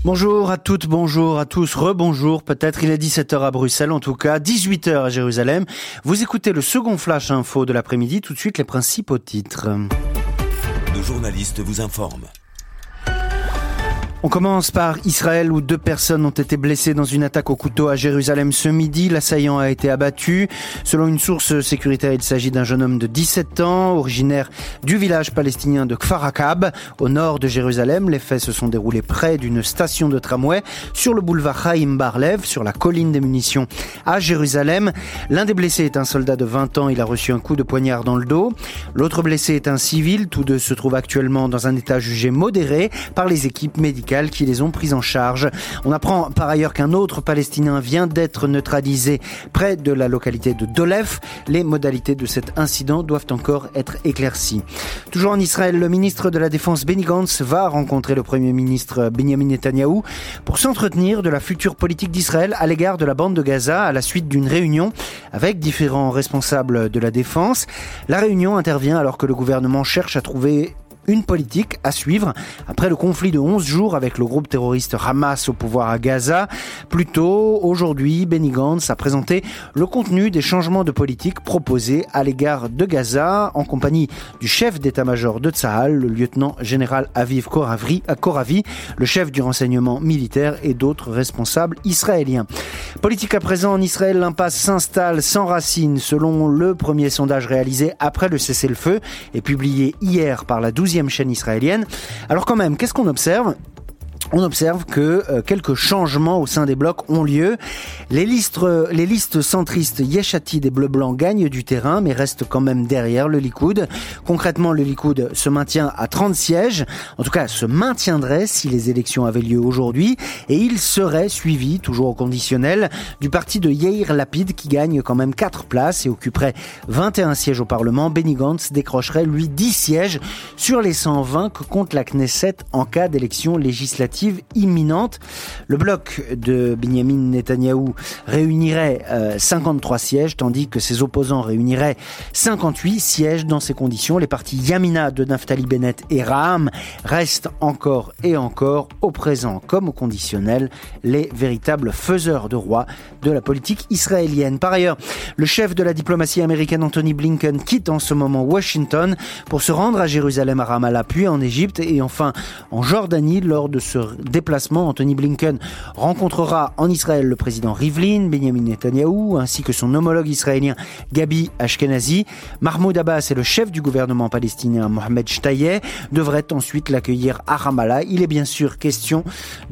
Bonjour à toutes, bonjour à tous, rebonjour. Peut-être il est 17h à Bruxelles, en tout cas 18h à Jérusalem. Vous écoutez le second flash info de l'après-midi. Tout de suite les principaux titres. Nos journalistes vous informent. On commence par Israël où 2 personnes ont été blessées dans une attaque au couteau à Jérusalem ce midi. L'assaillant a été abattu. Selon une source sécuritaire, il s'agit d'un jeune homme de 17 ans, originaire du village palestinien de Kfar Akab, au nord de Jérusalem. Les faits se sont déroulés près d'une station de tramway sur le boulevard Chaim Bar-Lev, sur la colline des munitions à Jérusalem. L'un des blessés est un soldat de 20 ans. Il a reçu un coup de poignard dans le dos. L'autre blessé est un civil. Tous deux se trouvent actuellement dans un état jugé modéré par les équipes médicales qui les ont pris en charge. On apprend par ailleurs qu'un autre Palestinien vient d'être neutralisé près de la localité de Dolef. Les modalités de cet incident doivent encore être éclaircies. Toujours en Israël, le ministre de la Défense Benny Gantz va rencontrer le Premier ministre Benjamin Netanyahou pour s'entretenir de la future politique d'Israël à l'égard de la bande de Gaza à la suite d'une réunion avec différents responsables de la défense. La réunion intervient alors que le gouvernement cherche à trouver une politique à suivre après le conflit de 11 jours avec le groupe terroriste Hamas au pouvoir à Gaza. Plus tôt, aujourd'hui, Benny Gantz a présenté le contenu des changements de politique proposés à l'égard de Gaza en compagnie du chef d'état-major de Tsahal, le lieutenant-général Aviv Koravi, le chef du renseignement militaire et d'autres responsables israéliens. Politique à présent en Israël, l'impasse s'installe sans racines selon le premier sondage réalisé après le cessez-le-feu et publié hier par la 12e chaîne israélienne. Alors quand même, qu'est-ce qu'on observe ? On observe que quelques changements au sein des blocs ont lieu. Les listes centristes Yesh Atid et Bleu-Blanc gagnent du terrain, mais restent quand même derrière le Likoud. Concrètement, le Likoud se maintient à 30 sièges. En tout cas, se maintiendrait si les élections avaient lieu aujourd'hui. Et il serait suivi, toujours au conditionnel, du parti de Yair Lapid qui gagne quand même 4 places et occuperait 21 sièges au Parlement. Benny Gantz décrocherait, lui, 10 sièges sur les 120 que compte la Knesset en cas d'élection législative imminente. Le bloc de Benjamin Netanyahou réunirait 53 sièges, tandis que ses opposants réuniraient 58 sièges. Dans ces conditions, les partis Yamina de Naftali Bennett et Raham restent encore et encore, au présent comme au conditionnel, les véritables faiseurs de roi de la politique israélienne. Par ailleurs, le chef de la diplomatie américaine Anthony Blinken quitte en ce moment Washington pour se rendre à Jérusalem, à Ramallah, puis en Égypte et enfin en Jordanie. Lors de ce déplacement, Anthony Blinken rencontrera en Israël le président Rivlin, Benjamin Netanyahou, ainsi que son homologue israélien Gabi Ashkenazi. Mahmoud Abbas et le chef du gouvernement palestinien Mohamed Shtayeh devraient ensuite l'accueillir à Ramallah. Il est bien sûr question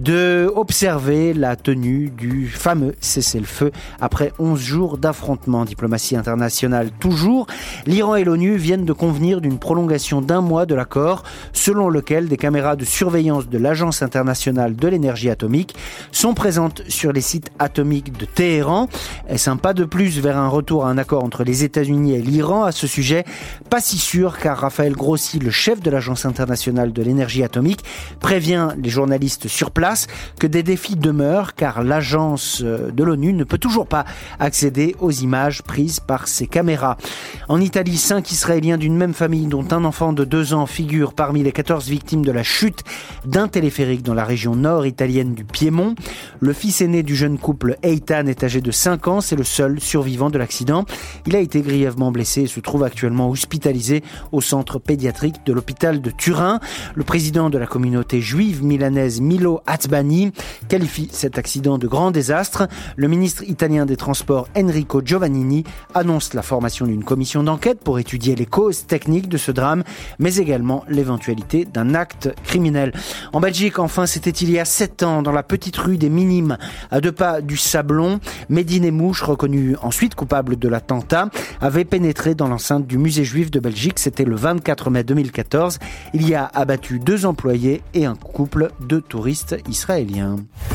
d'observer la tenue du fameux cessez-le-feu après 11 jours d'affrontements. Diplomatie internationale toujours. L'Iran et l'ONU viennent de convenir d'une prolongation d'1 mois de l'accord, selon lequel des caméras de surveillance de l'Agence internationale de l'énergie atomique sont présentes sur les sites atomiques de Téhéran. Est-ce un pas de plus vers un retour à un accord entre les États-Unis et l'Iran à ce sujet? Pas si sûr, car Raphaël Grossi, le chef de l'Agence internationale de l'énergie atomique, prévient les journalistes sur place que des défis demeurent, car l'agence de l'ONU ne peut toujours pas accéder aux images prises par ses caméras. En Italie, 5 Israéliens d'une même famille, dont un enfant de 2 ans, figurent parmi les 14 victimes de la chute d'un téléphérique dans la région nord italienne du Piémont. Le fils aîné du jeune couple, Eitan, est âgé de 5 ans. C'est le seul survivant de l'accident. Il a été grièvement blessé et se trouve actuellement hospitalisé au centre pédiatrique de l'hôpital de Turin. Le président de la communauté juive milanaise, Milo Atzbani, qualifie cet accident de grand désastre. Le ministre italien des Transports, Enrico Giovannini, annonce la formation d'une commission d'enquête pour étudier les causes techniques de ce drame, mais également l'éventualité d'un acte criminel. En Belgique, enfin, c'était il y a 7 ans, dans la petite rue des Minimes, à 2 pas du Sablon. Mehdi Nemmouche, reconnu ensuite coupable de l'attentat, avait pénétré dans l'enceinte du musée juif de Belgique. C'était le 24 mai 2014. Il y a abattu 2 employés et un couple de touristes israéliens.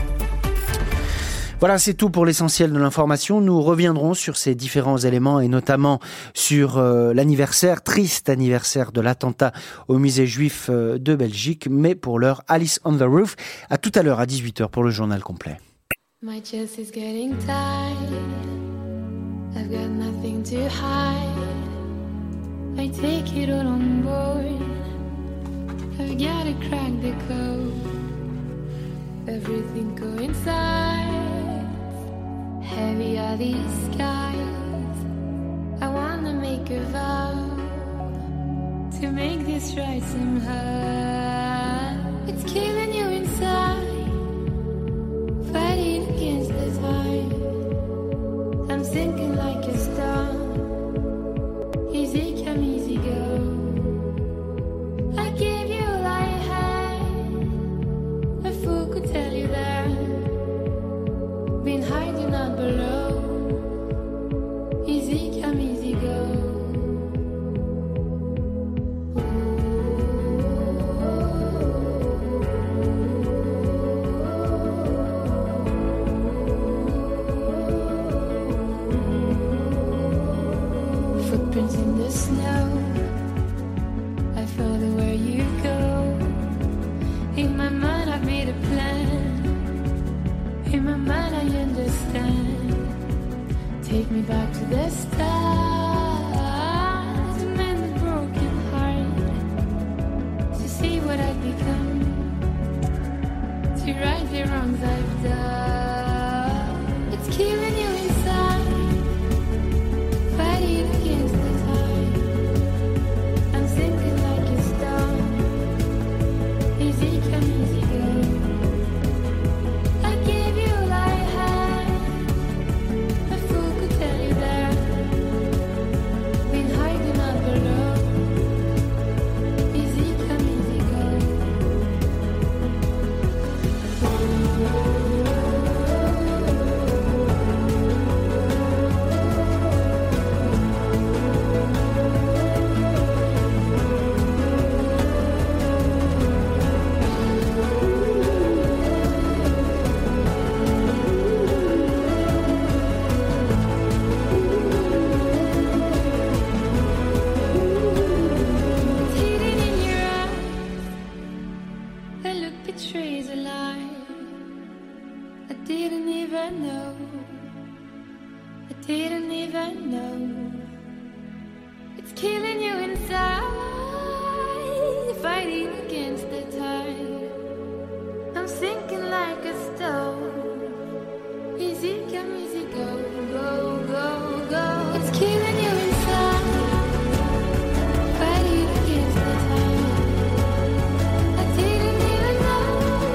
Voilà, c'est tout pour l'essentiel de l'information. Nous reviendrons sur ces différents éléments et notamment sur l'anniversaire, triste anniversaire de l'attentat au musée juif de Belgique. Mais pour l'heure, Alice on the Roof. À tout à l'heure à 18h pour le journal complet. My chest is getting tight. I've got nothing to hide. I take it all on board. I've got to crack the code. everything coincides. Heavy are these skies. I wanna make a vow to make this right somehow. It's killing you inside, fighting against the tide. I'm sinking like a star. Easy come, easy go. I gave you all I had. A fool could tell you that. Been hiding out below. Easy come, easy go. Footprints in the snow. I follow where you go. In my mind I've made a plan. In my mind I understand. Take me back to the start. To mend the broken heart. To see what I've become. To right the wrongs I've done. It's killing you inside. Fighting against the tide. I'm sinking like a stone. Easy come, easy go. I gave you all I had. A fool could tell you that. Been hiding out below. Easy come, easy go. It's hidden in your eyes. The look betrays a lie. I didn't even know. I didn't even know. It's killing you inside. Fighting against the tide. I'm sinking like a stone. Easy come, easy go, go, go, go. It's killing you inside. Fighting against the tide. I didn't even know.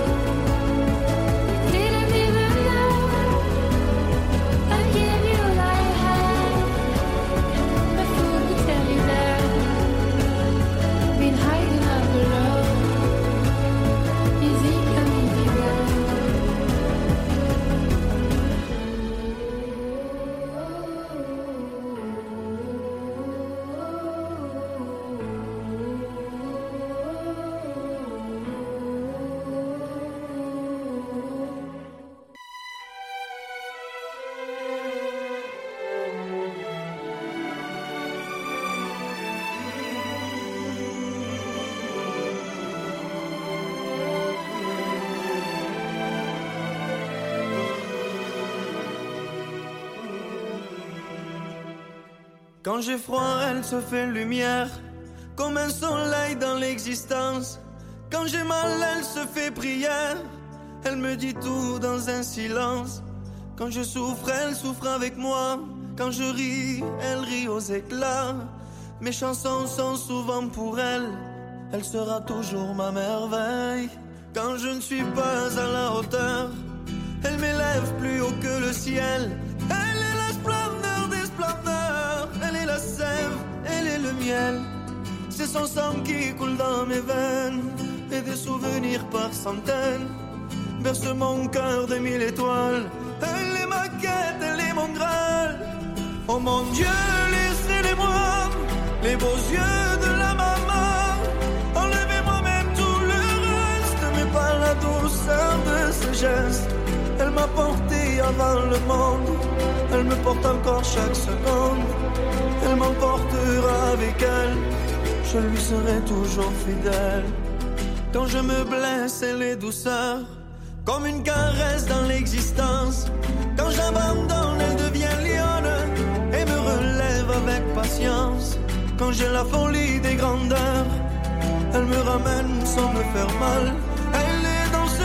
Didn't even know. I gave you all I had. A fool could tell you that. Been hiding out below. Easy come, easy go. Quand j'ai froid, elle se fait lumière, comme un soleil dans l'existence. Quand j'ai mal, elle se fait prière, elle me dit tout dans un silence. Quand je souffre, elle souffre avec moi. Quand je ris, elle rit aux éclats. Mes chansons sont souvent pour elle, elle sera toujours ma merveille. Quand je ne suis pas à la hauteur, elle m'élève plus haut que le ciel. Elle est la splendeur des splendeurs, elle est la sève, elle est le miel. C'est son sang qui coule dans mes veines, et des souvenirs par centaines bercent mon cœur de 1000 étoiles. Elle est ma quête, elle est mon graal. Oh mon Dieu, laissez-les-moi, les beaux yeux de la maman. Enlevez-moi même tout le reste, mais pas la douceur de ce geste. Elle m'a porté avant le monde, elle me porte encore chaque seconde. Elle m'emportera avec elle, je lui serai toujours fidèle. Quand je me blesse, elle est douceur, comme une caresse dans l'existence. Quand j'abandonne, elle devient lionne et me relève avec patience. Quand j'ai la folie des grandeurs, elle me ramène sans me faire mal. Elle est dans ce monde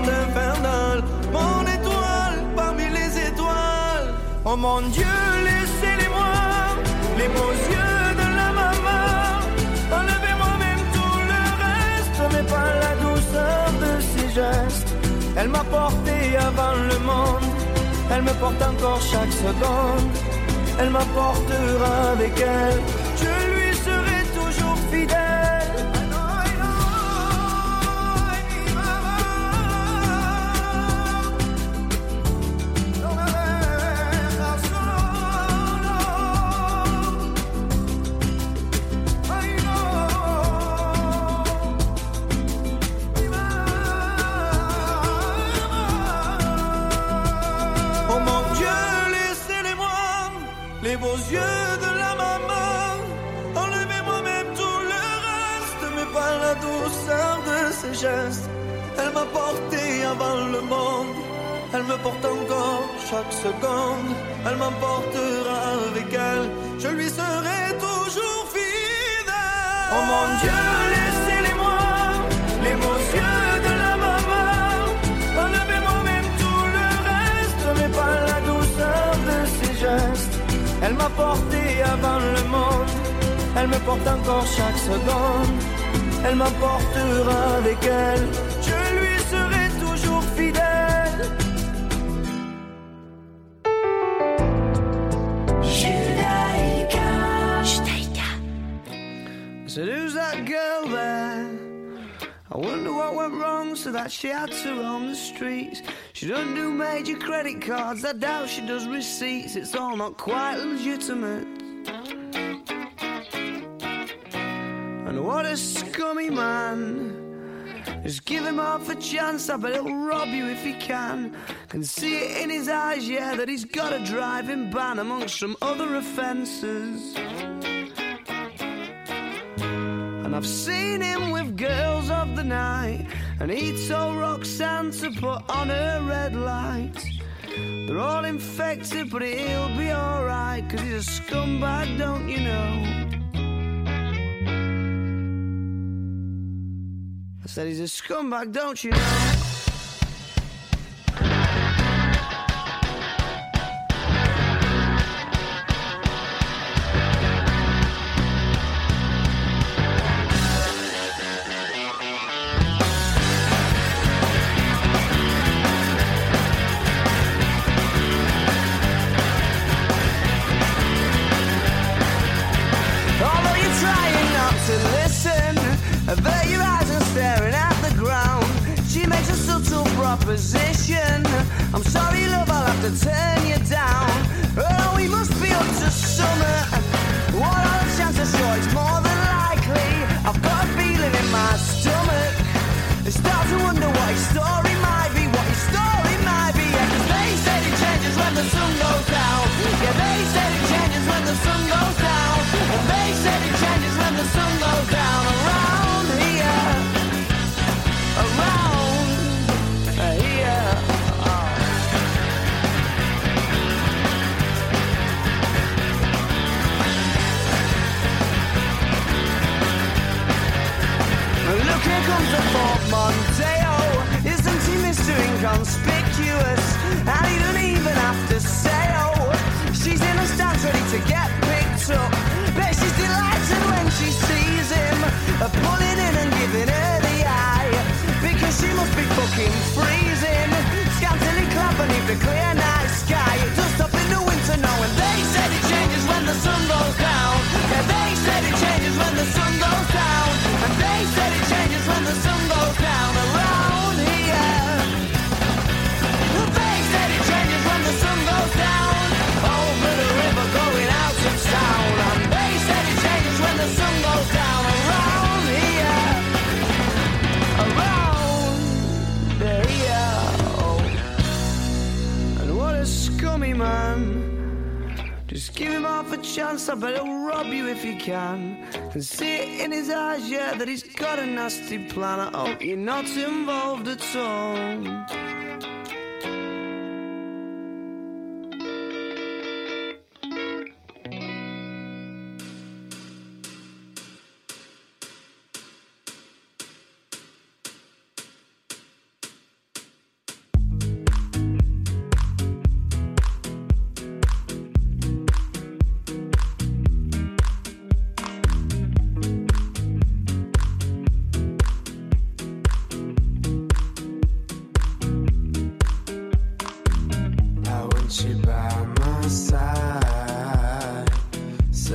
monde infernal, mon étoile parmi les étoiles. Oh mon Dieu, laissez-les-moi, les beaux yeux de la maman. Enlevez-moi même tout le reste, mais pas la douceur de ses gestes. Elle m'a porté avant le monde, elle me porte encore chaque seconde. Elle m'apportera avec elle, je lui serai toujours fidèle. Les beaux yeux de la maman, enlevez-moi même tout le reste, mais pas la douceur de ses gestes. Elle m'a porté avant le monde, elle me porte encore chaque seconde. Elle m'emportera avec elle, je lui serai toujours fidèle. Oh mon Dieu, laissez-les-moi, les beaux yeux de la maman. Enlevez-moi même tout le reste, mais pas la douceur de ses gestes. Elle m'a porté avant le monde, elle me porte encore chaque seconde. Elle m'emportera avec elle, je lui serai toujours fidèle. Judaïka. So who's that girl there? I wonder what went wrong so that she had to roam the streets. She doesn't do major credit cards, I doubt she does receipts. It's all not quite legitimate. And what a scummy man. Just give him half a chance, I bet he'll rob you if he can. Can see it in his eyes, yeah, that he's got a driving ban amongst some other offences. And I've seen him with girls of the night, and he told Roxanne to put on her red light. They're all infected, but he'll be alright, 'cause he's a scumbag, don't you know? I said he's a scumbag, don't you know? Avert your eyes and staring at the ground. She makes a subtle proposition. I'm sorry, love, I'll have to turn you down. Oh, we must be up to summer. What are the chances? Sure, it's more than likely. I've got a feeling in my stomach. I start to wonder what his story might be. What his story might be. Yeah, 'cause they said it changes when the sun goes down. Yeah, they said it changes when the sun goes down. And they said it changes when the sun goes down. Around here, look, here comes the portmanteau. Isn't he Mr. Inconspicuous? And he doesn't even have to say, oh. She's in a stance ready to get picked up. Bet she's delighted when she sees him, pulling in and giving her the eye, because she must be fucking freezing. Scantily clad beneath the clear night sky. It does stop in the winter now, and they said it changes when the sun goes down. Yeah, they said it changes when the sun goes down. And they said it changes when the sun goes down. Around here, they said it changes when the sun goes down. Over the river going out of town. And they said it changes when the sun goes down. Around here, oh. And what a scummy man. Just give him half a chance, I bet he'll rob you if he can. And see it in his eyes, yeah, that he's got a nasty plan. I hope you're not involved at all.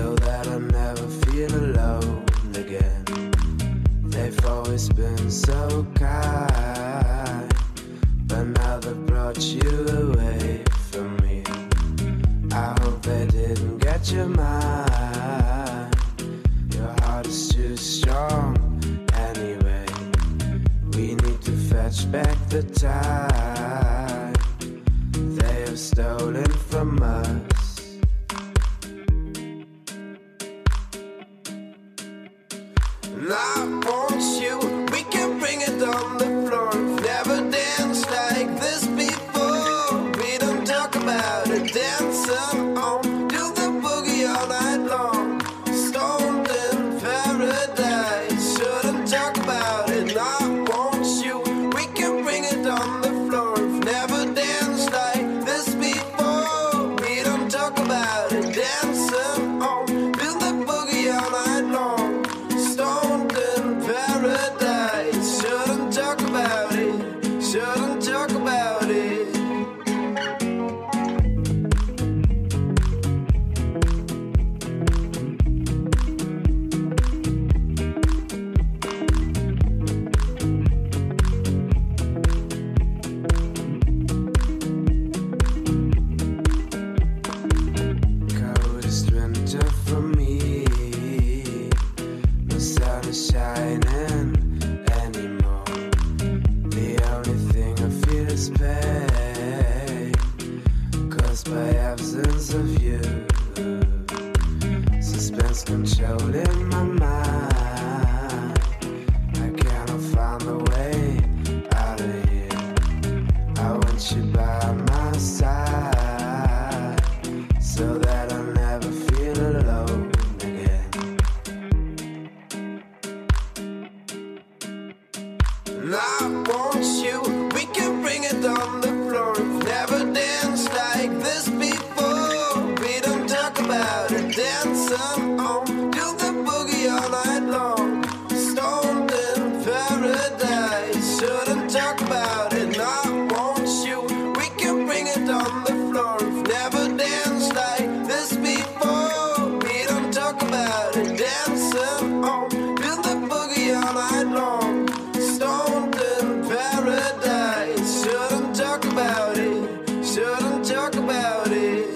so that I never feel alone again. They've always been so kind, but now they brought you away from me. I hope they didn't get your mind. Your heart is too strong anyway. We need to fetch back the time they have stolen from us. And I want you, we can bring it on the floor. Never danced like this before. We don't talk about it, dancing on, do the boogie all night long. Stoned in paradise, shouldn't talk about it. And I want you, we can bring it on the floor. Never danced like this before. We don't talk about it, dancing on, do the boogie all night long. Stoned in paradise, shouldn't talk about it, shouldn't talk about it. Coldest winter for me. No sun is shining anymore. The only thing I feel is pain, caused by absence of you. Suspense controlling my mind. I cannot find a way out of here. I want you by my side, so that I'll never feel alone again. And I want you, we can bring it on the floor. Never danced like this before. We don't talk about it, dancing on, do the boogie all night long. Stoned in paradise, shouldn't talk about it. And I want you, we can bring it on the floor. Never danced like this before. We don't talk about it, dancing on, do the boogie all night long. Stoned in paradise, shouldn't talk about it, shouldn't talk about it.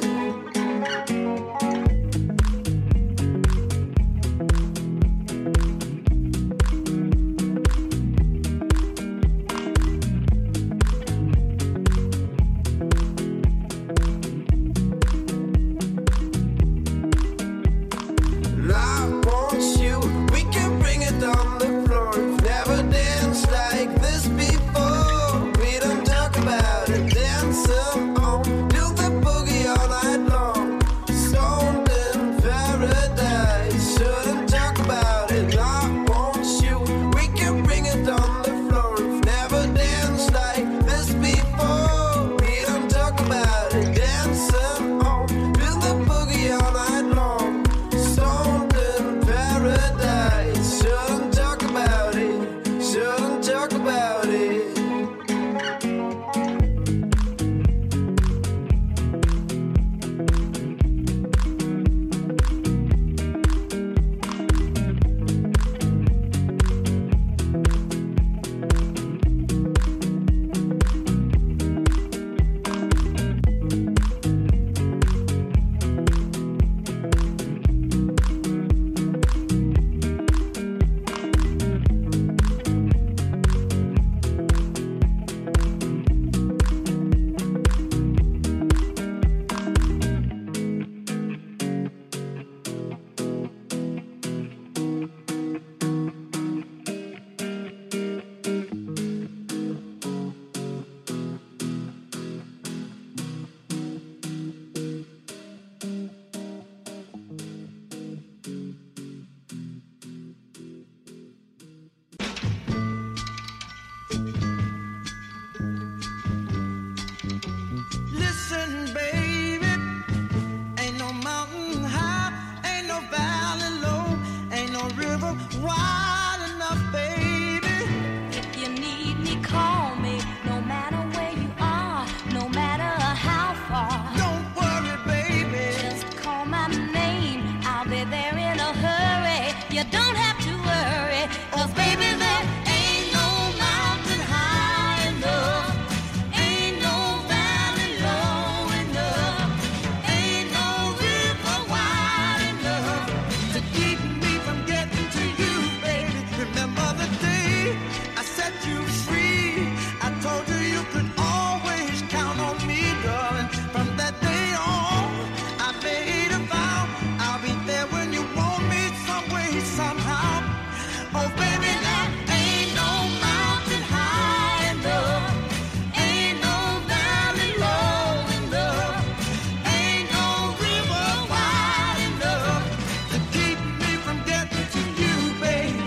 And I want you, you don't have to worry, 'cause baby there ain't no mountain high enough, ain't no valley low enough, ain't no river wide enough to keep me from getting to you, baby. Remember the day I set you free? I told you you could always count on me, darling. From that day on, I made a vow I'll be there when you want me, some way, somehow. Oh, baby, there ain't no mountain high enough, ain't no valley low enough, ain't no river wide enough to keep me from getting to you, baby.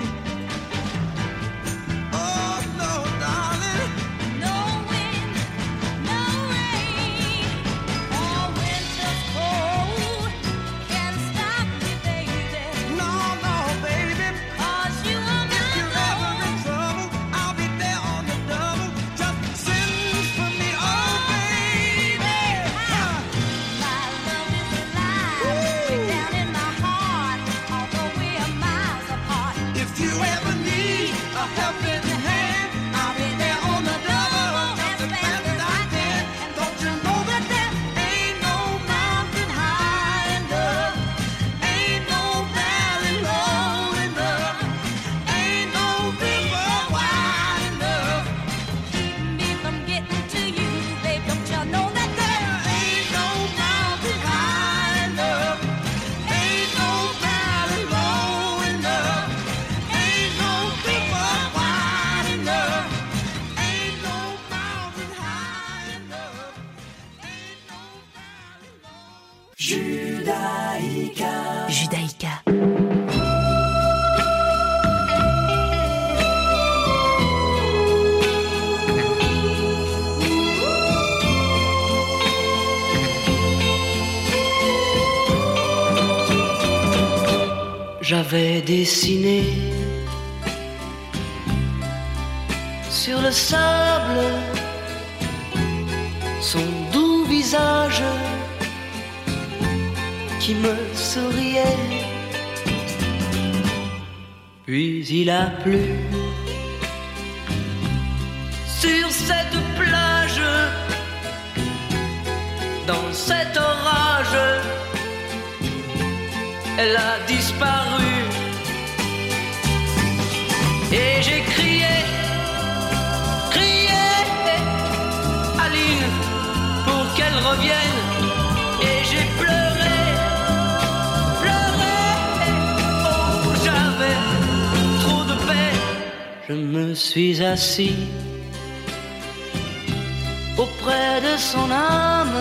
Oh, no, darling. No wind, no rain, or winter's cold can stop me, baby. No, no, baby. 'Cause you are If you're my ever in love. trouble, I'll be there on the double. Just send for me, oh, baby. My love is alive, way down in my heart, although we are miles apart. If you ever need a helping hand, I'll be there on the double, just as fast as I can. Don't you know that there ain't no mountain high enough, ain't no valley low enough, ain't no river wide enough. Keep me from getting to you, babe. Don't you know that there Ain't no mountain high enough, ain't no valley low enough, ain't no river wide enough, ain't no mountain high enough, ain't no valley low. Judaïka. J'avais dessiné sur le sable son doux visage qui me souriait. Puis il a plu sur cette plage, dans cet orage. Elle a disparu et j'ai crié, crié, Aline, pour qu'elle revienne. Et j'ai pleuré, pleuré, oh j'avais trop de peine. Je me suis assis auprès de son âme,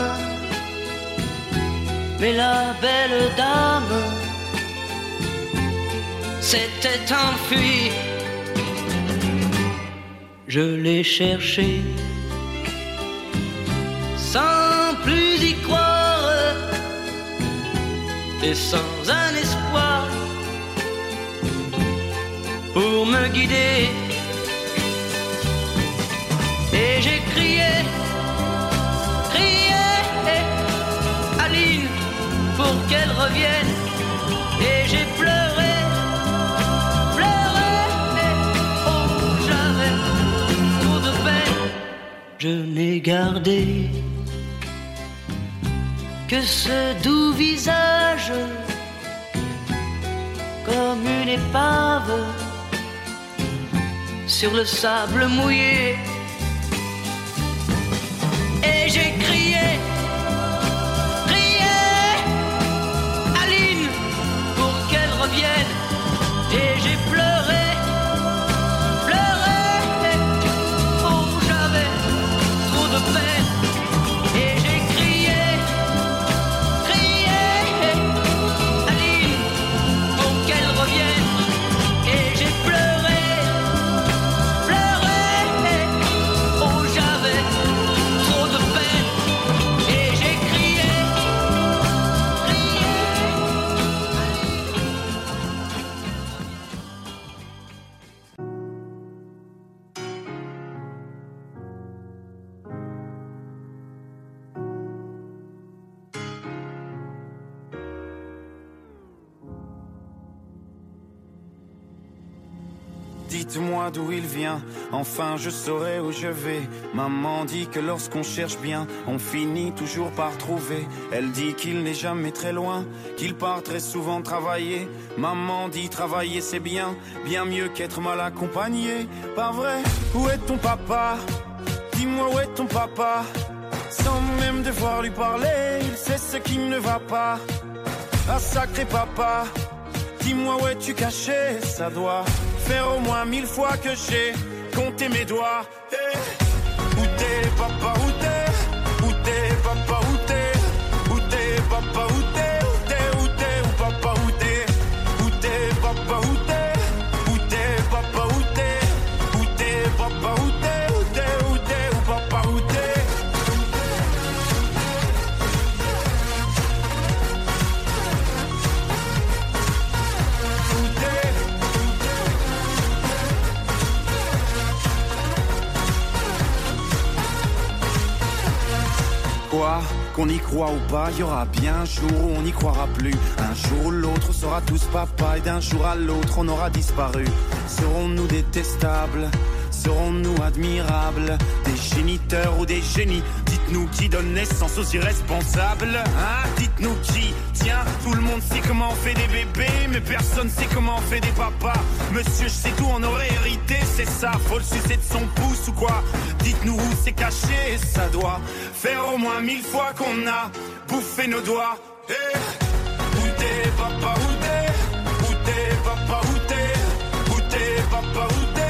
mais la belle dame s'était enfuie. Je l'ai cherchée sans plus y croire et sans un espoir pour me guider. Et j'ai crié, crié, Aline, pour qu'elle revienne. Et j'ai pleuré, pleuré, oh j'avais trop de peine. Je n'ai gardé que ce doux visage, comme une épave sur le sable mouillé. Et j'ai crié, crié, Aline, pour qu'elle revienne. Et j'ai pleuré, pleuré, oh j'avais trop de peine. Et j'ai crié, crié, Aline, pour qu'elle revienne. Et j'ai pleuré, pleuré, oh j'avais trop de peine. Et j'ai crié, crié. dites-moi d'où il vient, enfin je saurai où je vais. Maman dit que lorsqu'on cherche bien, on finit toujours par trouver. Elle dit qu'il n'est jamais très loin, qu'il part très souvent travailler. Maman dit travailler c'est bien, bien mieux qu'être mal accompagné. Pas vrai? Où est ton papa? Dis-moi où est ton papa? Sans même devoir lui parler, il sait ce qui ne va pas. Ah sacré papa, dis-moi où es-tu caché? Ça doit faire au moins 1000 fois que j'ai compté mes doigts. Hey. Où t'es papa, où t'es? Où t'es papa, où t'es? Où t'es papa, où t'es? Où t'es, où t'es? Où papa, où t'es? Où t'es papa, où t'es? Où t'es papa, où t'es? Où t'es papa, où t'es? Où t'es, où t'es? Où papa, où t'es? Quoi? Qu'on y croit ou pas, y aura bien un jour où on n'y croira plus. Un jour ou l'autre, on sera tous papa et d'un jour à l'autre, on aura disparu. Serons-nous détestables? Serons-nous admirables? Des géniteurs ou des génies? Dites-nous qui donne naissance aux irresponsables, hein? Dites-nous qui? Tiens, tout le monde sait comment on fait des bébés, mais personne sait comment on fait des papas. Monsieur, je sais tout, on aurait hérité, c'est ça. Faut le sucer de son pouce ou quoi? Dites-nous où c'est caché, ça doit faire au moins 1000 fois qu'on a bouffé nos doigts. Hey. Où t'es papa, où t'es? Où t'es papa, où t'es? Où t'es papa, où t'es?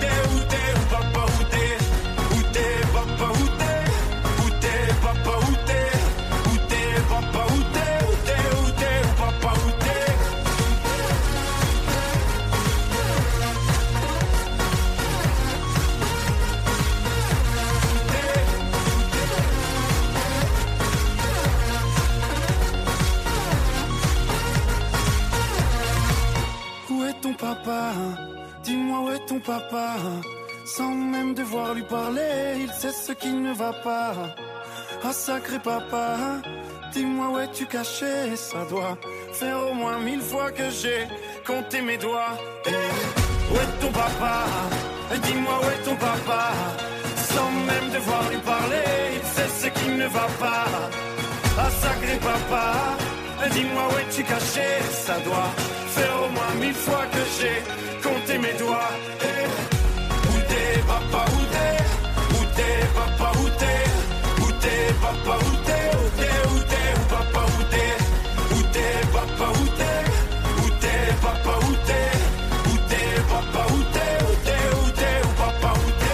Papa, dis-moi où est ton papa? Sans même devoir lui parler, il sait ce qui ne va pas. Ah sacré papa, dis-moi où es-tu caché? Ça doit faire au moins 1000 fois que j'ai compté mes doigts. Hey. Où est ton papa? Dis-moi où est ton papa? Sans même devoir lui parler, il sait ce qui ne va pas. Ah sacré papa, dis-moi où es-tu caché? Ça doit faire au moins 1000 fois que j'ai compté mes doigts. Hey. Où t'es papa, où t'es? Où t'es papa, où t'es? Où t'es papa, où t'es? Où t'es, où t'es? Où papa, où t'es? Où t'es papa, où t'es? Où t'es papa, où t'es? Où t'es papa, où t'es? Où t'es, où t'es? Où papa, où t'es?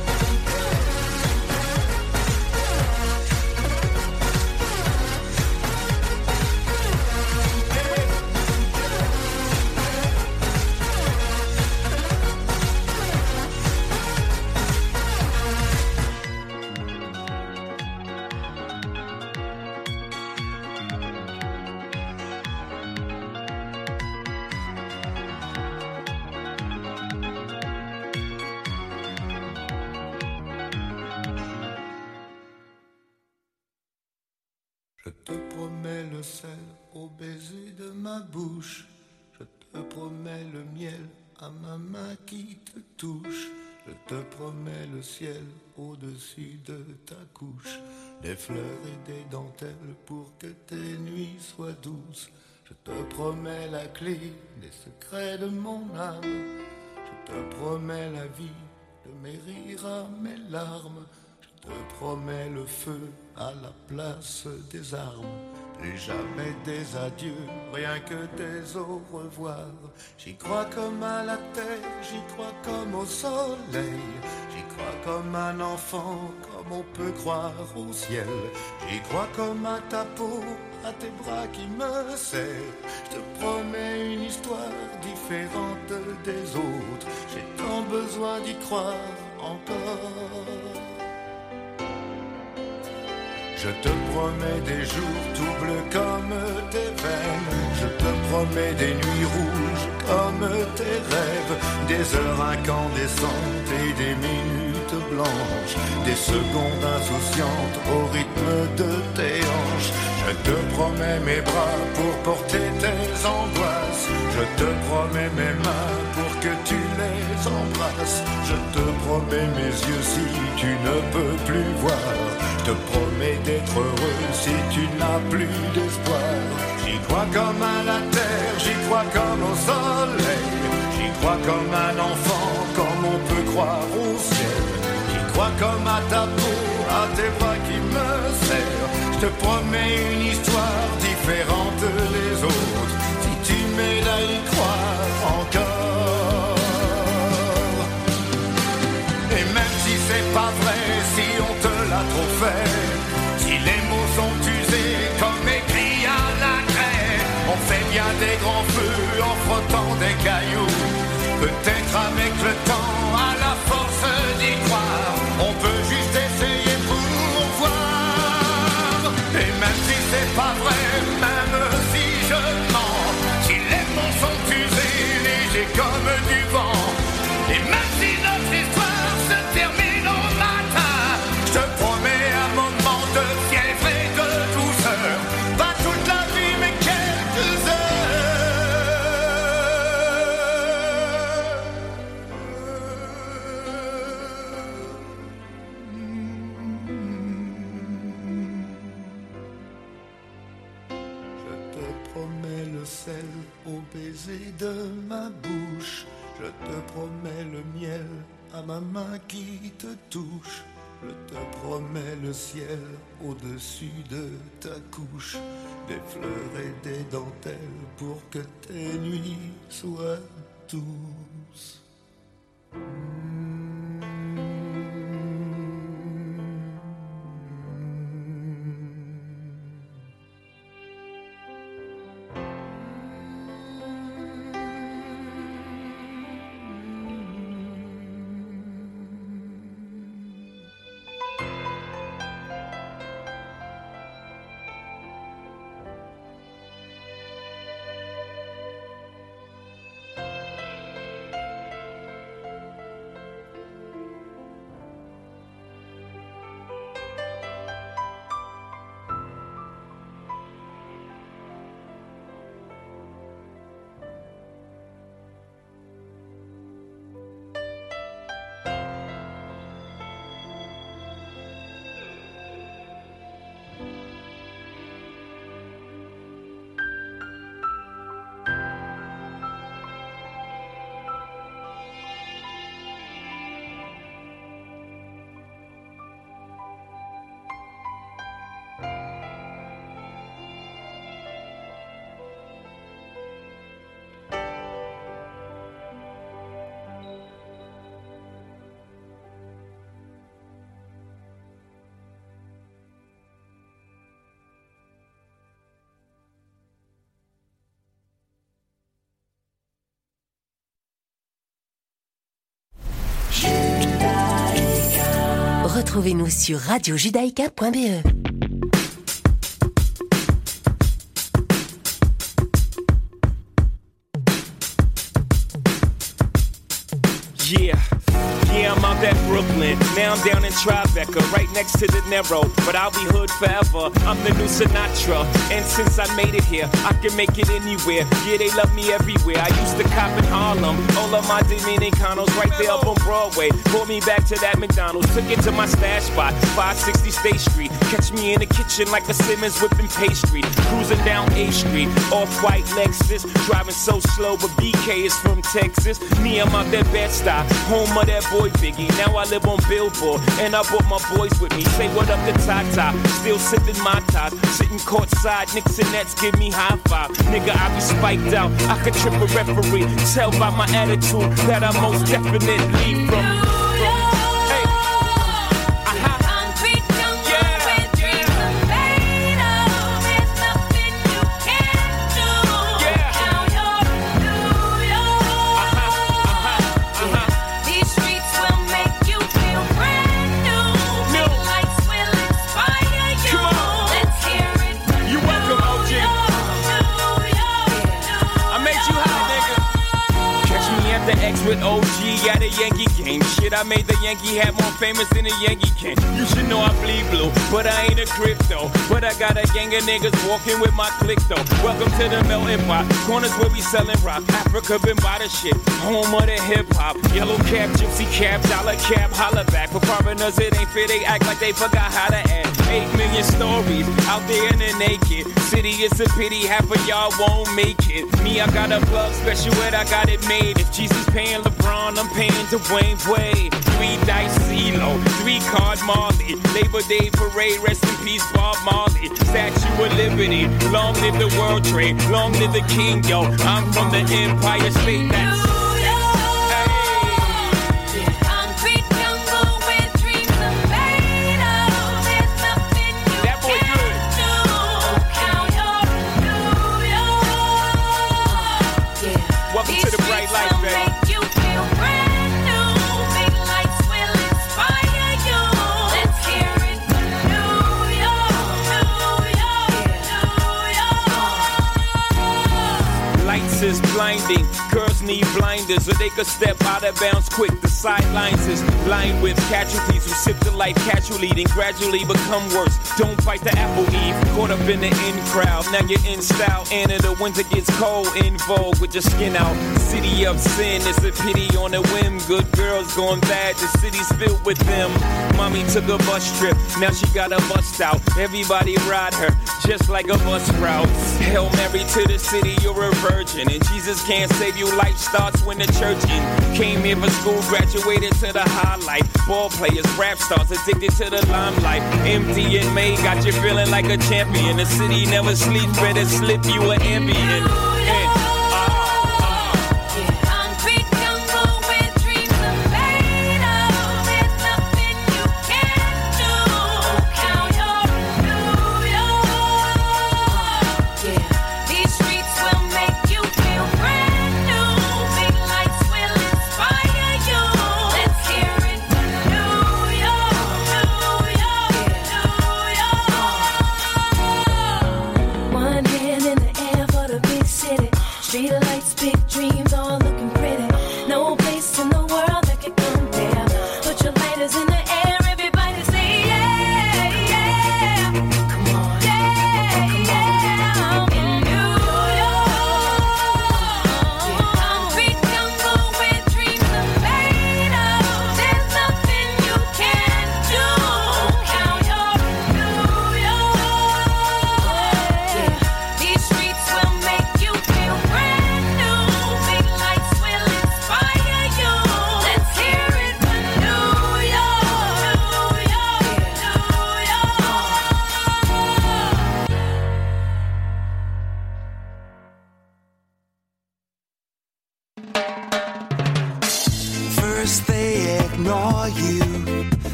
Je te promets le sel au baiser de ma bouche. Je te promets le miel à ma main qui te touche. Je te promets le ciel au-dessus de ta couche. Des fleurs et des dentelles pour que tes nuits soient douces. Je te promets la clé des secrets de mon âme. Je te promets la vie de mes rires à mes larmes. Je te promets le feu à la place des armes. Plus jamais des adieux, rien que des au revoir. J'y crois comme à la terre, j'y crois comme au soleil. J'y crois comme un enfant, comme on peut croire au ciel. J'y crois comme à ta peau, à tes bras qui me serrent. Je te promets une histoire différente des autres. J'ai tant besoin d'y croire encore. Je te promets des jours tout bleus comme tes veines. Je te promets des nuits rouges comme tes rêves. Des heures incandescentes et des minutes blanches. Des secondes insouciantes au rythme de tes hanches. Je te promets mes bras pour porter tes angoisses. Je te promets mes mains pour que tu les embrasses. Je te promets mes yeux si tu ne peux plus voir. Je te promets d'être heureux si tu n'as plus d'espoir. J'y crois comme à la terre, j'y crois comme au soleil. J'y crois comme un enfant, comme on peut croire au ciel. J'y crois comme à ta peau, à tes bras qui me serrent. Je te promets une histoire différente des autres. Si tu m'aides à y croire encore. Et même si c'est pas vrai, si on te l'a trop fait, si les mots sont usés comme écrit à la craie, on fait bien des grands feux en frottant des cailloux. Peut-être avec le temps, à la force d'y croire, on peut juste essayer pour voir. Et même si c'est pas vrai, même si je mens, si les mots sont usés, légers comme du vent, et même si notre histoire se termine au matin, je te promets un moment de fièvre et de douceur, pas toute la vie mais quelques au baiser de ma bouche, je te promets le miel à ma main qui te touche, je te promets le ciel au-dessus de ta couche, des fleurs et des dentelles pour que tes nuits soient douces. Retrouvez-nous sur radiojudaïka.be. Yeah, I'm out at Brooklyn. Now I'm down in Tribeca, right next to the Narrow. But I'll be hood forever. I'm the new Sinatra. And since I made it here, I can make it anywhere. Yeah, they love me everywhere. I used to cop in Harlem. All of my Dominicanos right there up on Broadway. Pulled me back to that McDonald's. Took it to my stash spot, 560 State Street. Catch me in the kitchen like a Simmons whipping pastry. Cruising down A Street, off-white Lexus. Driving so slow, but BK is from Texas. Me, I'm out that Bed-Stuy, home of that boy Biggie. Now I live on Billboard, and I brought my boys with me. Say what up to Tata, still sipping my top. Sitting courtside, Knicks and Nets give me high five. Nigga, I be spiked out, I could trip a referee. Tell by my attitude that I most definitely from. X with OG at a Yankee game. Shit, I made the Yankee hat more famous than the Yankee can. You should know I bleed blue, but I ain't a crypto. But I got a gang of niggas walking with my click though. Welcome to the melting pot. Corners where we selling rock. Africa been by the shit. Home of the hip hop. Yellow cap, gypsy cap, dollar cap, holla back. For foreigners it ain't fair, they act like they forgot how to act. 8 million stories out there in the naked city. It's a pity half of y'all won't make it. Me, I got a plug special ed, I got it made. If Jesus paying LeBron, I'm paying Dwayne Wade. 3 dice CeeLo, 3 card Marley. Labor Day parade, rest in peace Bob Marley. Statue of Liberty, long live the World Trade, long live the King, yo. I'm from the Empire State. That's is blinding. Girls need blinders so they could step out of bounds quick. The sidelines is lined with casualties who sip the life casually and gradually become worse. Don't fight the apple eve. Caught up in the in crowd. Now you're in style. And in the winter gets cold. In vogue with your skin out. City of sin. It's a pity on a whim. Good girls going bad. The city's filled with them. Mommy took a bus trip. Now she got a bust out. Everybody ride her just like a bus route. Hail Mary to the city. You're a virgin. And Jesus can't save you. Life starts when the church in. Came here for school, graduated to the highlight. Ball players, rap stars, addicted to the limelight. Empty and May got you feeling like a champion. The city never sleeps, better slip you an ambient.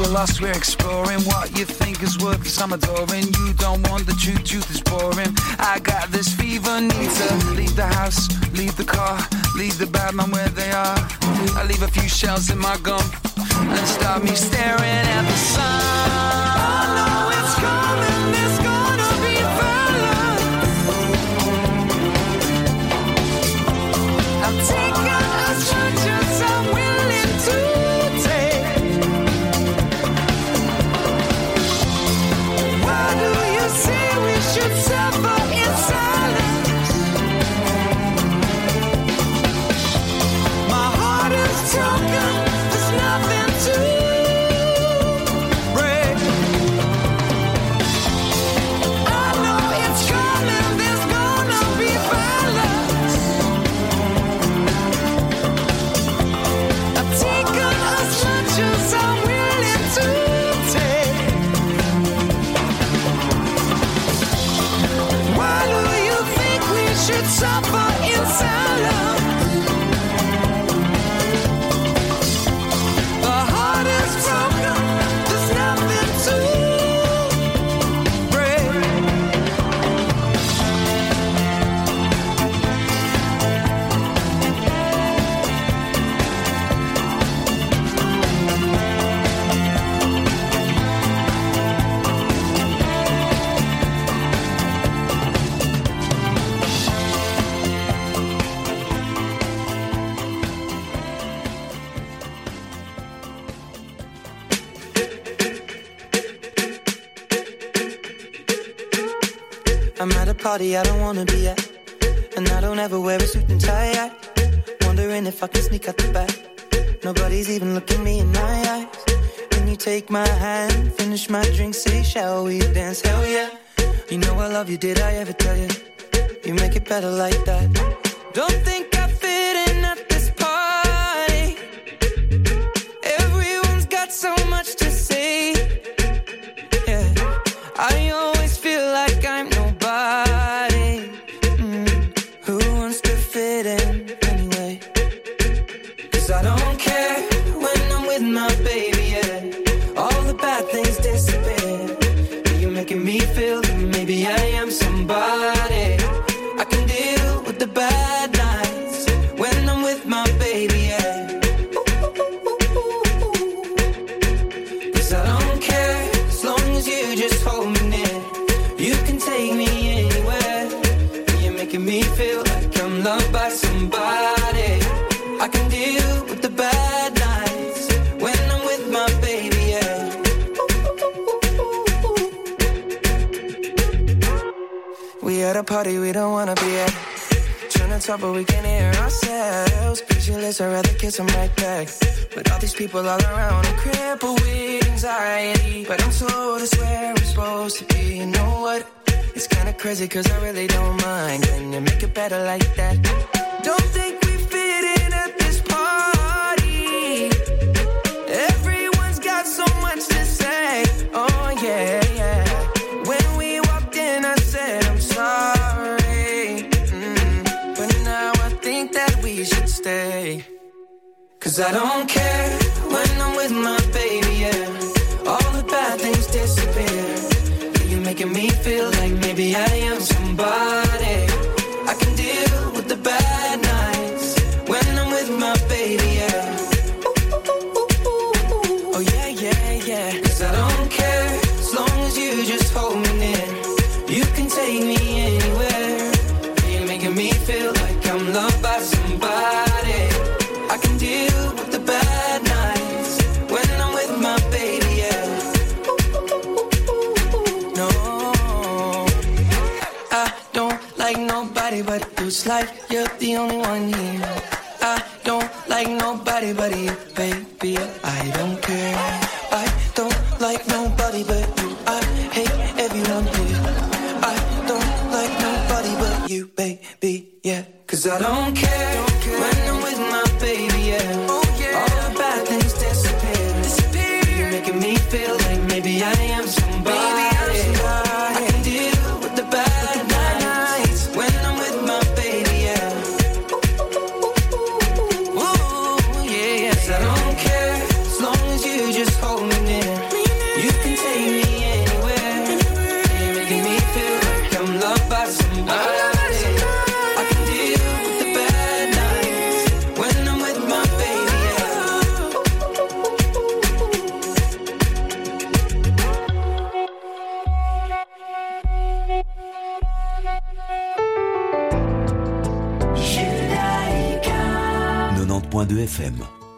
we're lost, we're exploring. What you think is worthless, I'm adoring. You don't want the truth, truth is boring. I got this fever, need to leave the house, leave the car, leave the bad man where they are. I leave a few shells in my gum and start me staring at the sun. I know it's coming, it's gonna be violent. I'm taking as much as I'm willing to take. Why do you say we should suffer in silence? My heart is broken, there's nothing to break. I know it's coming, there's gonna be violence. I've taken as much as I'm willing to take. Why do you think we should suffer in silence? The heart is broken, there's nothing to break. I'm at a party I don't wanna be at, and I don't ever wear a suit and tie. Wondering if I can sneak out the back. Nobody's even looking me in my eyes. Can you take my hand, finish my drink, say shall we dance? Hell yeah. You know I love you, did I ever tell you? You make it better like that. Don't think I fit in at this party. Everyone's got so much to say. Yeah, I always feel like I'm nobody. Who wants to fit in anyway? 'Cause I don't care when I'm with my baby, yeah. All the bad things disappear. You're making me feel that maybe I am somebody. I can deal with the bad nights when I'm with my baby, yeah. 'Cause I don't care as long as you just hold me near. You can take me anywhere. You're making me feel like I'm loved by somebody. I can deal with the bad nights when I'm with my baby, yeah. We at a party we don't wanna be at. Trying to talk but we can't hear ourselves. Pictureless, I'd rather kiss them right back. But all these people all around, I'm crippled with anxiety. But I'm told it's where I'm supposed to be. You know what? It's kinda crazy 'cause I really don't mind. Can you make it better like that? Don't think we fit in at this party. Everyone's got so much to say. Oh yeah, yeah. When we walked in I said I'm sorry. But now I think that we should stay. 'Cause I don't care when I'm with my baby, yeah. All the bad things disappear. You're making me feel like maybe I am somebody. I can deal with the bad nights when I'm with my baby, yeah. Oh yeah, yeah, yeah. 'Cause I don't care as long as you just hold me near. You can take me anywhere. You're making me feel like I'm loved by somebody. I can deal with the bad nights when I'm with my baby, yeah. No, I don't like nobody but you. It's like you're the only one here. I don't like nobody but you, baby. I don't care. I don't like nobody but you. I hate everyone here. I don't like nobody but you, baby, yeah. 'Cause I don't care when I'm with my baby, yeah. All the bad things disappear. You're making me feel like maybe I am somebody. I can deal with the bad nights when I'm with my baby, yeah. Ooh, yeah, yeah. 'Cause I don't care as long as you just hold me near. 102 FM.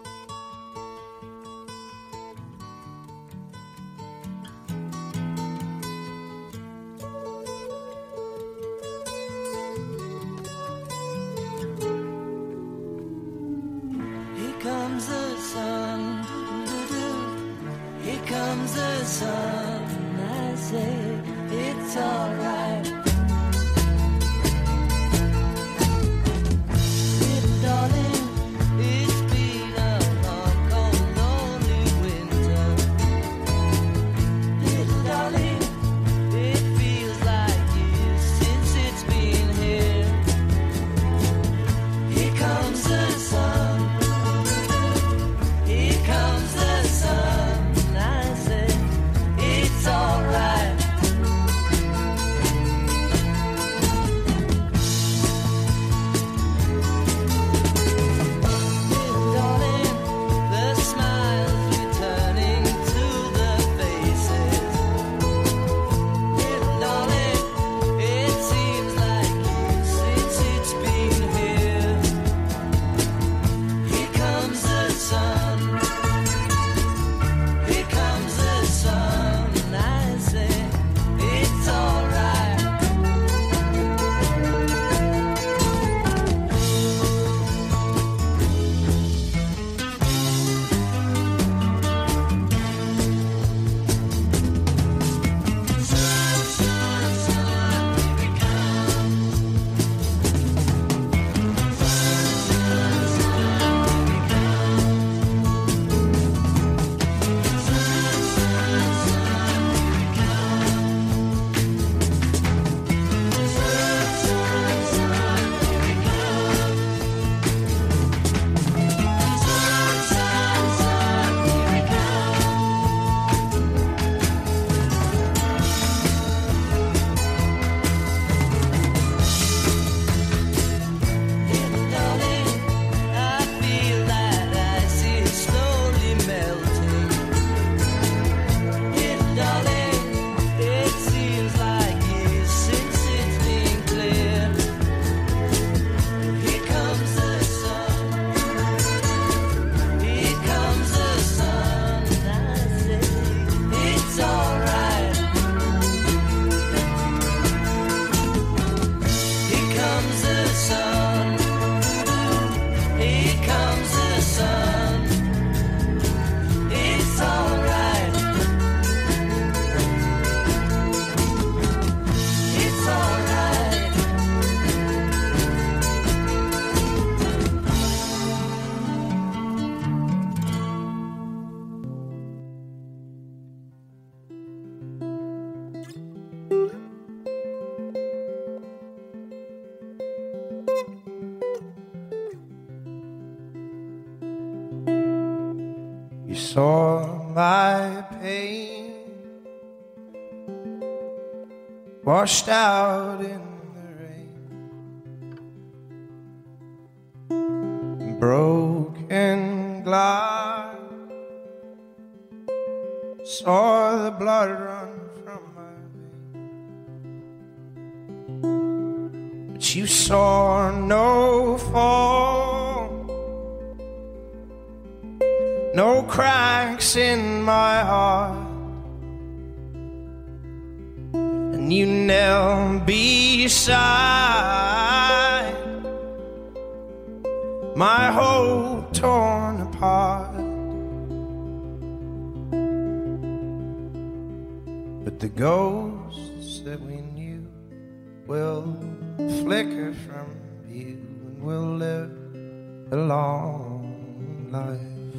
Here comes the sun, doo-doo-doo. Here comes the sun. I say it's alright. Little darling, it's been a hard, cold, lonely winter. Little darling, it feels like years since it's been here. Here comes the sun. Here comes the sun. I say it's alright. Little darling, the smiles returning to the faces. Little darling, it seems like years since it's been here. Here comes the sun. Here comes the sun. I say it's alright. Little darling, I feel that ice is slowly melting. Little darling, it seems like years since it's been clear. Here comes the sun. Here comes the sun. I say it's alright. Here comes the sun. Here comes the sun. It's alright. It's alright. You saw my pain washed out in the rain, broken glass. Saw the blood run from my veins, but you saw no fall, no cracks in my heart, and you knelt beside my hope torn apart. But the ghosts that we knew will flicker from view, and we'll live a long life.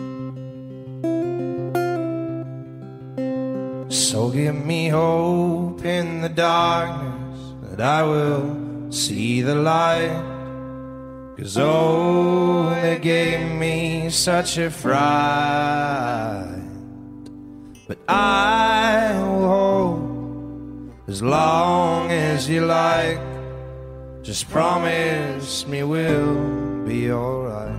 So give me hope in the darkness that I will see the light. 'Cause oh, they gave me such a fright. But I will hold as long as you like. Just promise me we'll be alright.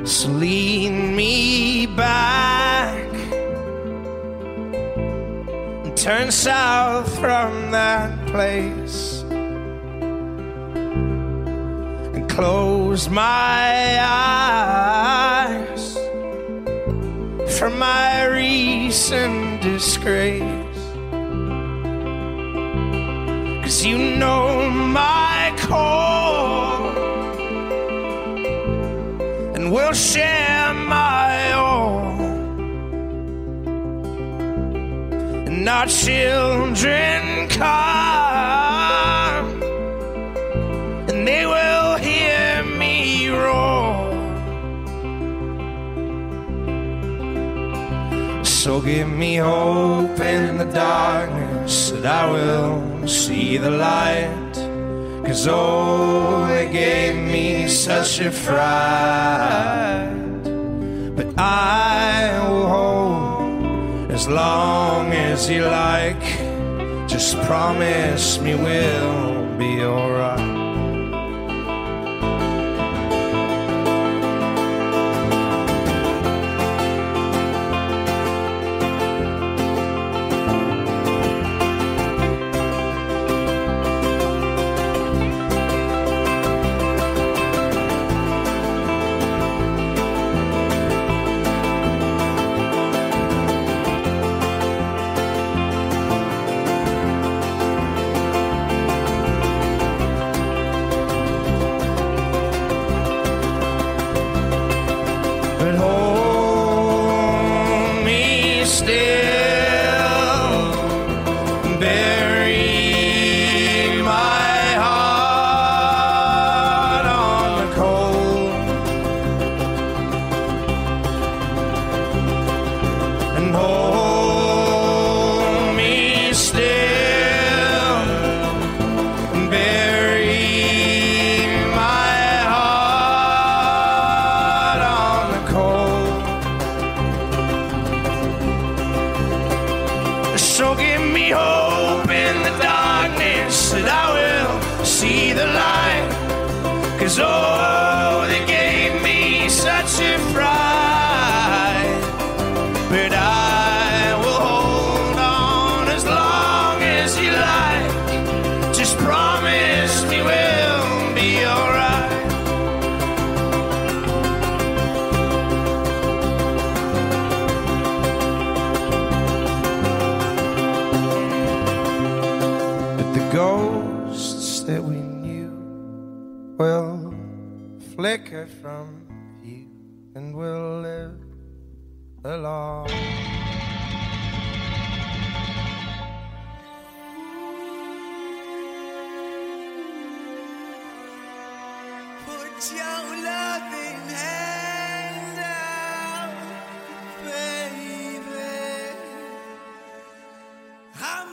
So lead me back and turn south from that place and close my eyes from my recent disgrace. 'Cause you know my core and we'll share my all, and our children come and they will hear me roar. So give me hope in the darkness that I will see the light. 'Cause oh, they gave me such a fright. But I will hold as long as you like. Just promise me we'll be alright. So give me hope in the darkness that I will see the light. 'Cause oh, they gave me such a fright. But I will hold on as long as you like. Just promise me we'll be alright. Ghosts that we knew will flicker from view, and we'll live along. Put your loving hand out, baby. I'm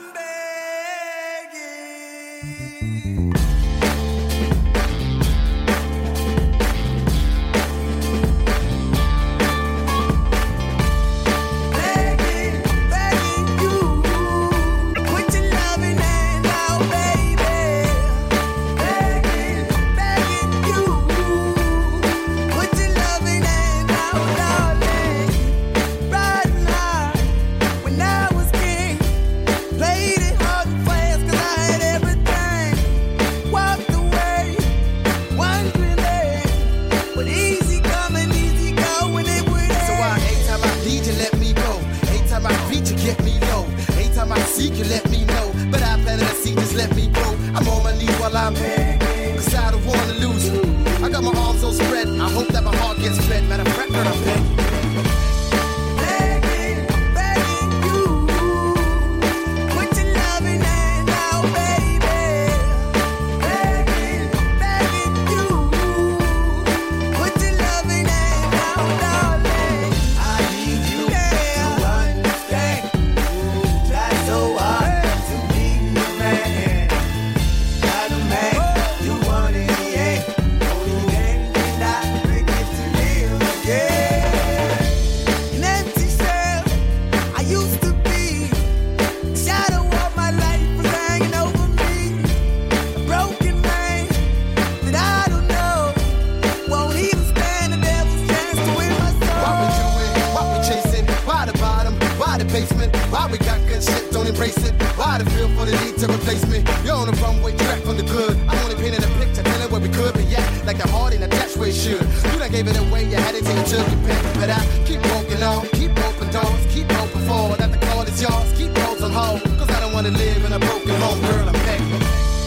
seek you, let me know. But I better see, just let me go. I'm on my knees while I'm begging, 'cause I don't wanna lose you. I got my arms all spread, I hope that my heart gets fed. Matter of fact, that I'm begging. Yeah. embrace it. Why the feel for the need to replace me? You're on the runway track from the good. I'm only painting a picture, telling where we could be at. Like the heart in a dash where it should. You done gave it away, you had it till you took your pen. But I keep walking on, keep open doors, keep open forward. That the call is yours, keep those on hold. Cause I don't wanna live in a broken home, girl, I'm begging.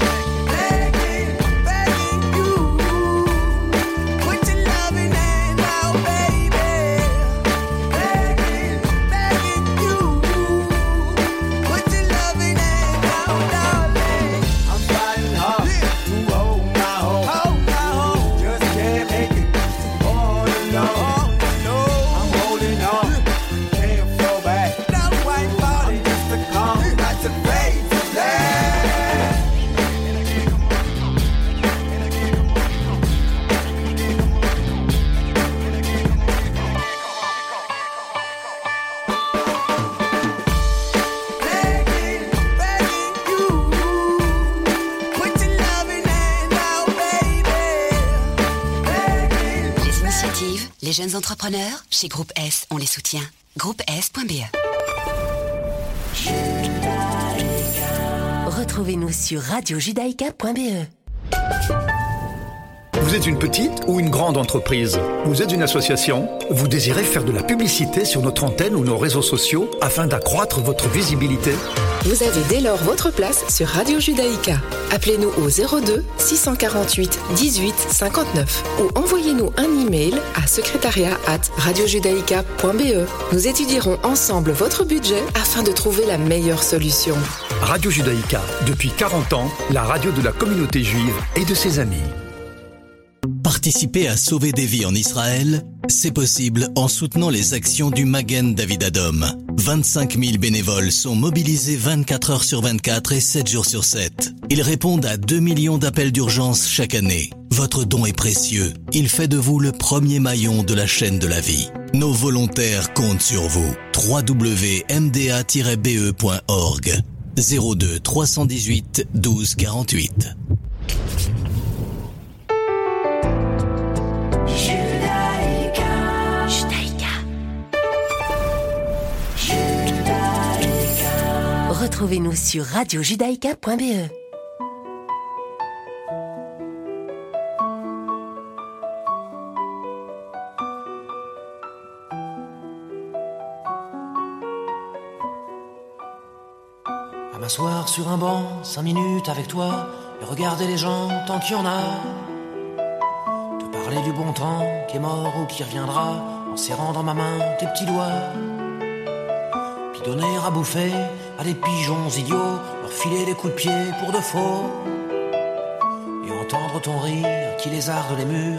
Les jeunes entrepreneurs, chez Groupe S, on les soutient. Groupe S.be. Retrouvez-nous sur radiojudaïka.be. Vous êtes une petite ou une grande entreprise? Vous êtes une association? Vous désirez faire de la publicité sur notre antenne ou nos réseaux sociaux afin d'accroître votre visibilité? Vous avez dès lors votre place sur Radio Judaïka. Appelez-nous au 02 648 18 59 ou envoyez-nous un email à secrétariat@radiojudaïka.be. Nous étudierons ensemble votre budget afin de trouver la meilleure solution. Radio Judaïka, depuis 40 ans, la radio de la communauté juive et de ses amis. Participer à sauver des vies en Israël, c'est possible en soutenant les actions du Magen David Adom. 25 000 bénévoles sont mobilisés 24 heures sur 24 et 7 jours sur 7. Ils répondent à 2 millions d'appels d'urgence chaque année. Votre don est précieux. Il fait de vous le premier maillon de la chaîne de la vie. Nos volontaires comptent sur vous. www.mda-be.org 02 318 12 48. Retrouvez-nous sur radiojudaïka.be. À m'asseoir sur un banc, 5 minutes avec toi, et regarder les gens tant qu'il y en a. Te parler du bon temps qui est mort ou qui reviendra, en serrant dans ma main tes petits doigts. Puis donner à bouffer à des pigeons idiots, leur filer des coups de pied pour de faux, et entendre ton rire qui lézarde les murs